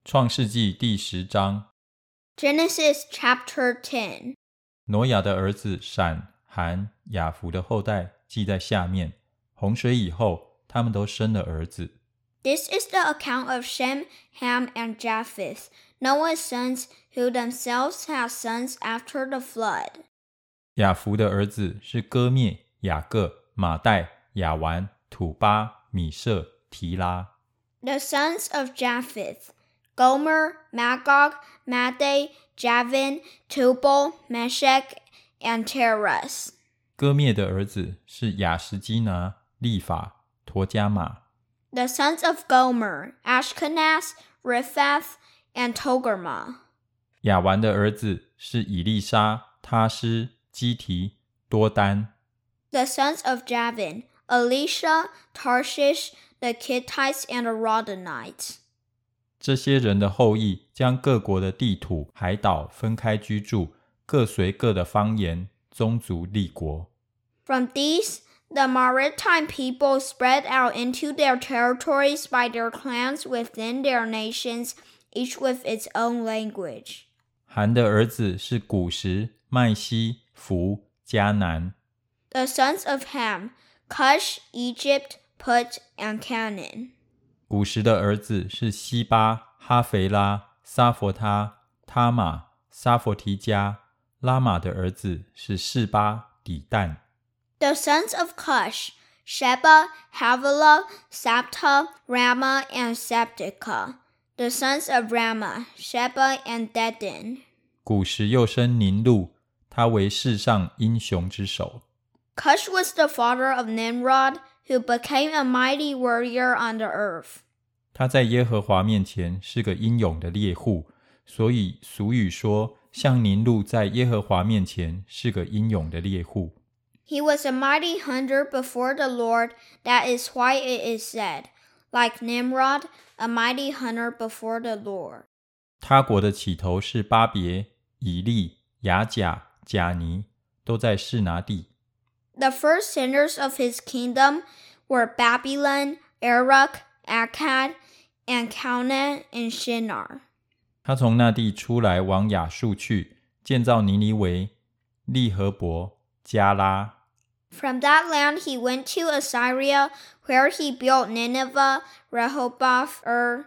创世纪第10章 Genesis chapter 10. 挪亚的儿子闪、含、雅弗的后代记在下面。洪水以后，他们都生了儿子。 This is the account of Shem, Ham, and Japheth, Noah's sons, who themselves had sons after the flood. 雅弗的儿子是歌灭、雅各、马代、亚完、土巴、米舍、提拉。 The sons of Japheth, Gomer, Magog, Madai, Javan, Tubal, Meshech, and Teras. 歌灭的儿子是亚什基拿、利法、陀加马。 The sons of Gomer, Ashkenaz, Riphath, and Togarmah. 亚完的儿子是以利沙、他施、基提、多丹。 The sons of Javan, Elisha, Tarshish, the Kittites, and the Rodanites. 这些人的后裔将各国的地土、海岛分开居住，各随各的方言、宗族立国。 From these, the maritime people spread out into their territories by their clans within their nations, each with its own language. 含的儿子是古实、麦西、弗、迦南。 The sons of Ham, Cush, Egypt, Put, and Canaan. 古实的儿子是西巴、哈肥拉、撒佛他、他玛、撒佛提加。拉玛的儿子是示巴、底但。 The sons of Cush, Sheba, Havilah, Sabta, Ramah, and Sabteka. The sons of Ramah, Sheba, and Dedan. 古实又生宁录，他为世上英雄之首。 Cush was the father of Nimrod, who became a mighty warrior on the earth. 他在耶和华面前是个英勇的猎户，所以俗语说，像宁录在耶和华面前是个英勇的猎户。 He was a mighty hunter before the Lord. That is why it is said, like Nimrod, a mighty hunter before the Lord. 他国的起头是巴别、以利、雅甲、贾尼，都在示拿地。 The first sinners of his kingdom were Babylon, Erech, Akkad, and Calneh and Shinar. 他从那地出来往亚述去，建造尼尼微、利和伯、加拉。 From that land he went to Assyria, where he built Nineveh, Rehoboth,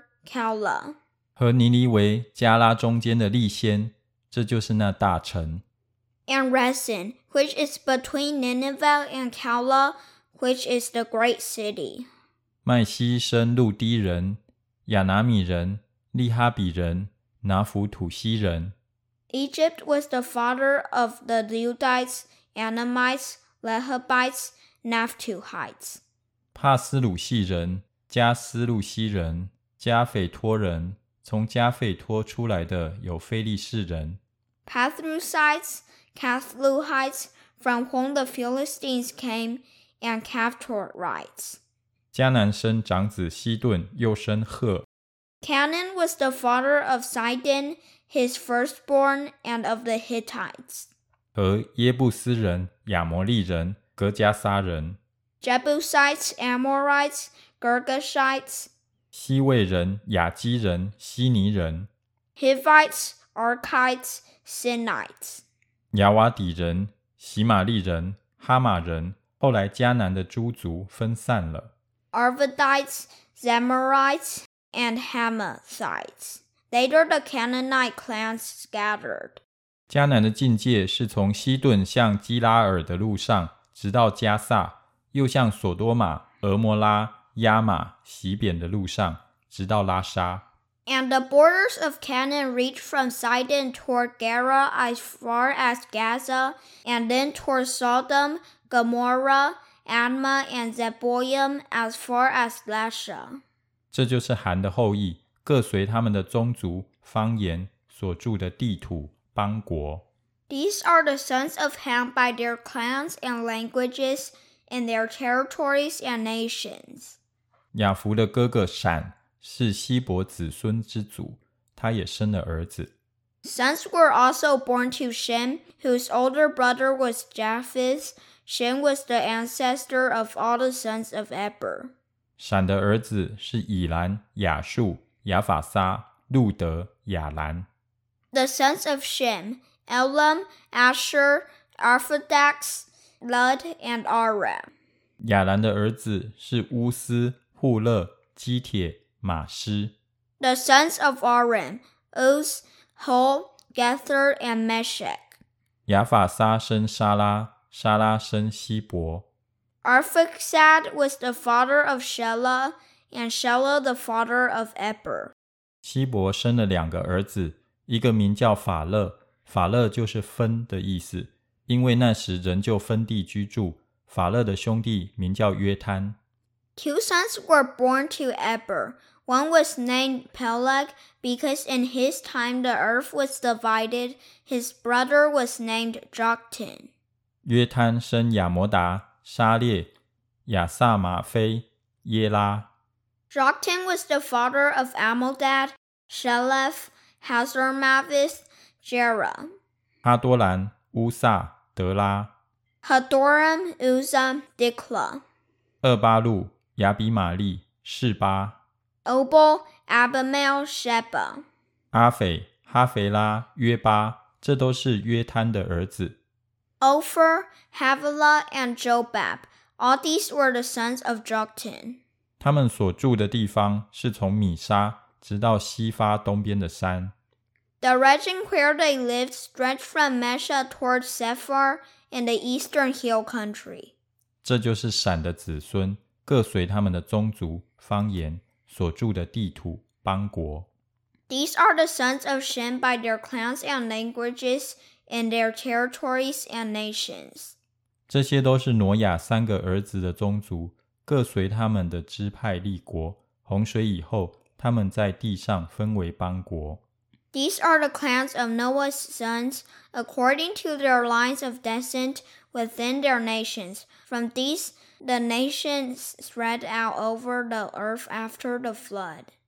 Calah. 和尼尼微、加拉中间的利先，这就是那大城。 And Resen, which is between Nineveh and Calah, which is the great city. 麦西生路低人、亚拿米人、利哈比人、拿弗土西人。 Egypt was the father of the Ludites, Anamites, Lehabites, Naphtuhites. 帕斯鲁系人、加斯路西人、加斐托人，从加斐托出来的有非利士人。 Pathrusites, Cathluhites, from whom the Philistines came, and Caphtorites. 迦南生长子西顿，又生赫。 Canaan was the father of Sidon, his firstborn, and of the Hittites. 和耶布斯人、亚摩利人、格加撒人。 Jebusites, Amorites, Girgashites, 西魏人、亚基人、希尼人。 Hivites, Archites, Sinites. 亚瓦底人、喜玛利人、哈马人。后来迦南的诸族分散了。 Arvadites, Zemarites, and Hamathites. Later the Canaanite clans scattered. 迦南的境界是从西顿向基拉尔的路上，直到加萨，又向索多玛、俄摩拉、亚玛、洗扁的路上，直到拉沙。 And the borders of Canaan reached from Sidon toward Gera as far as Gaza, and then toward Sodom, Gomorrah, Admah, and Zeboiim as far as Lasha. 这就是含的后裔，各随他们的宗族、方言所住的地土、邦国。 These are the sons of Ham by their clans and languages, in their territories and nations. 雅弗的哥哥闪是希伯子孙之祖，他也生了儿子。 Sons were also born to Shem, whose older brother was Japheth. Shem was the ancestor of all the sons of Eber. 闪的儿子是以兰、亚述、亚法撒、 路德、亚兰。 The sons of Shem, Elam, Asher, Arphaxad, Lud, and Aram. 亚兰的儿子是乌斯、户勒、基铁、马施。 The sons of Aram, Uz, Hul, Gether, and Meshech. 亚法撒生沙拉，沙拉生希伯。 Arphaxad was the father of Shelah, and Shelah the father of Eber. 希伯生了2个儿子，一个名叫法勒，法勒就是分的意思，因为那时人就分地居住。法勒的兄弟名叫约摊。 Two sons were born to Eber. One was named Peleg, because in his time the earth was divided. His brother was named Joktan. 约摊生亚摩达、沙列、亚撒马菲、耶拉。 Joktan was the father of Amaldad, Sheleph, Hazarmaveth, Jerah. 哈多兰、乌萨、德拉。 Hadoram, Uzzah, Diklah. 厄巴路、亚比玛利、示巴。 Obal, Abimael, Sheba. 阿斐、哈腓拉、约巴，这都是约摊的儿子。 Ophir, Havilah, and Jobab. All these were the sons of Joktan. 他们所住的地方是从米沙直到西法东边的山。 The region where they lived stretched from Mesha toward Sephar in the eastern hill country. 这就是闪的子孙，各随他们的宗族、方言所住的地土、邦国。 These are the sons of Shem by their clans and languages, in their territories and nations. 这些都是挪亚3个儿子的宗族，各随他们的支派立国。洪水以后，他们在地上分为邦国。 These are the clans of Noah's sons, according to their lines of descent within their nations. From these, the nations spread out over the earth after the flood.